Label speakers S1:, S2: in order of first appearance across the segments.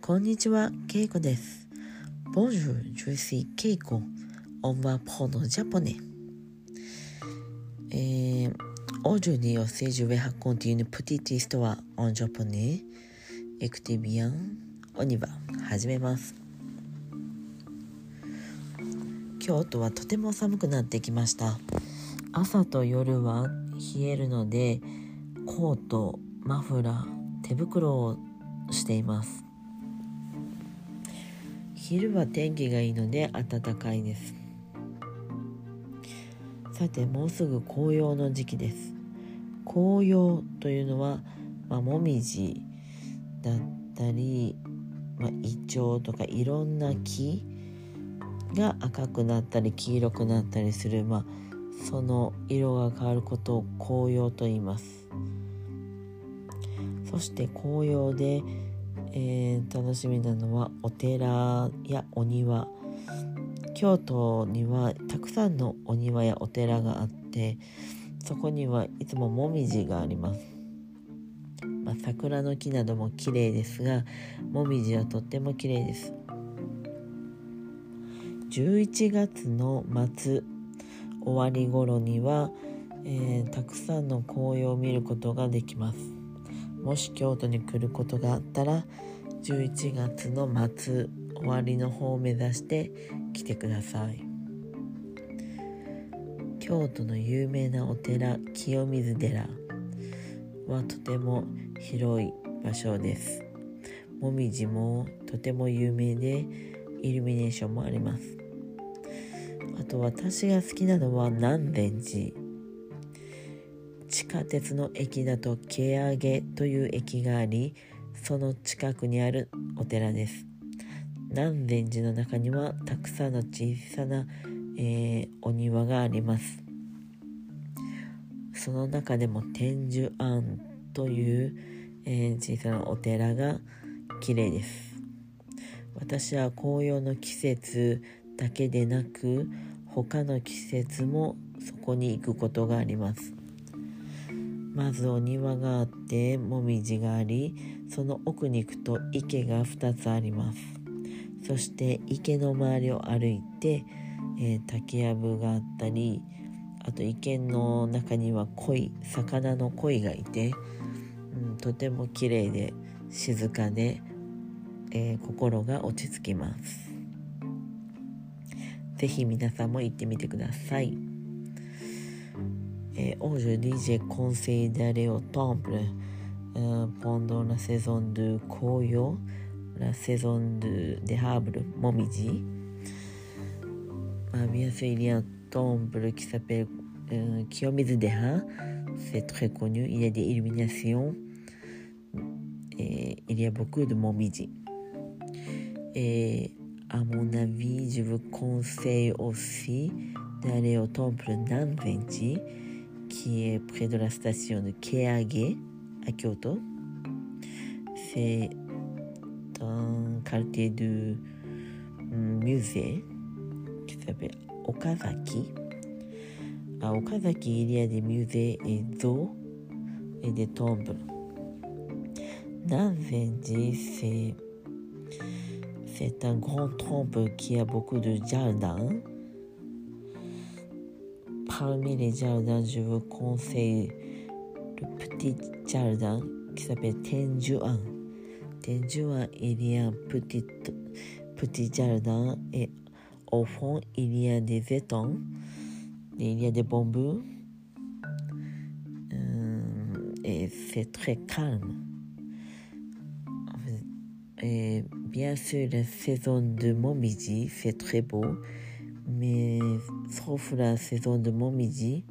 S1: こんにちは、ケイコです。Bonjour, je suis Keiko. On va prendre japonais. Aujourd'hui aussi, je vais raconter une petite histoire en japonais. Écoutez bien, on y va. 始めます。京都はとても寒くなってきました。朝と夜は冷えるので、コート、マフラー、手袋をしています。昼は天気がいいので暖かいです。さて、もうすぐ紅葉の時期です。紅葉というのは、もみじだったり、イチョウとかいろんな木が赤くなったり黄色くなったりする、その色が変わることを紅葉と言います。そして紅葉で楽しみなのはお寺やお庭。京都にはたくさんのお庭やお寺があって、そこにはいつももみじがあります。桜の木なども綺麗ですが、もみじはとっても綺麗です。11月の末終わり頃には、たくさんの紅葉を見ることができます。もし京都に来ることがあったら、11月の末終わりの方を目指して来てください。京都の有名なお寺、清水寺はとても広い場所です。もみじもとても有名で、イルミネーションもあります。あと私が好きなのは南禅寺。地下鉄の駅だと蹴上という駅があり、その近くにあるお寺です。南禅寺の中にはたくさんの小さな、お庭があります。その中でも天寿庵という、小さなお寺が綺麗です。私は紅葉の季節だけでなく、他の季節もそこに行くことがあります。まずお庭があって、もみじがあり、その奥に行くと池が2つあります。そして池の周りを歩いて、竹やぶがあったり、あと池の中には魚の鯉がいて、とても綺麗で静かで、心が落ち着きます。ぜひ皆さんも行ってみてください。Aujourd'hui, j'ai conseillé d'aller au temple pendant la saison de Koyo, la saison des arbres Momiji. Bien sûr, il y a un temple qui s'appelle Kiyomizu-dera. C'est très connu. Il y a des illuminations et il y a beaucoup de Momiji. Et à mon avis, je vous conseille aussi d'aller au temple Nanzenji, qui est près de la station de Keage à Kyoto. C'est un quartier de musée qui s'appelle Okazaki. À Okazaki, il y a des musées et zoos et des temples. Nanzenji, c'est un grand temple qui a beaucoup de jardins. Parmi les jardins, je vous conseille le petit jardin qui s'appelle Tenjuan. Tenjuan, il y a un petit jardin et au fond, il y a des étangs, et il y a des bambous et c'est très calme. Et bien sûr, la saison de Momiji, c'est très beau, mais sauf la saison de Momiji,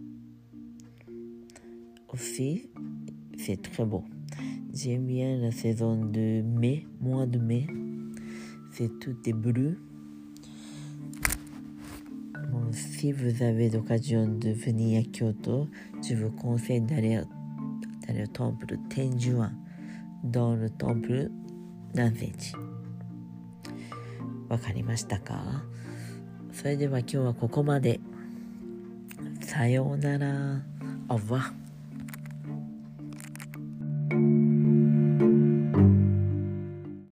S1: aussi, c'est très beau. J'aime bien la saison de mai, mois de mai, tout est bleu. Bon, si vous avez l'occasion de venir à Kyoto, je vous conseille d'aller au temple Tenjuan, dans le temple南禅寺。わかりましたか？それでは今日はここまで。さようなら。Au revoir。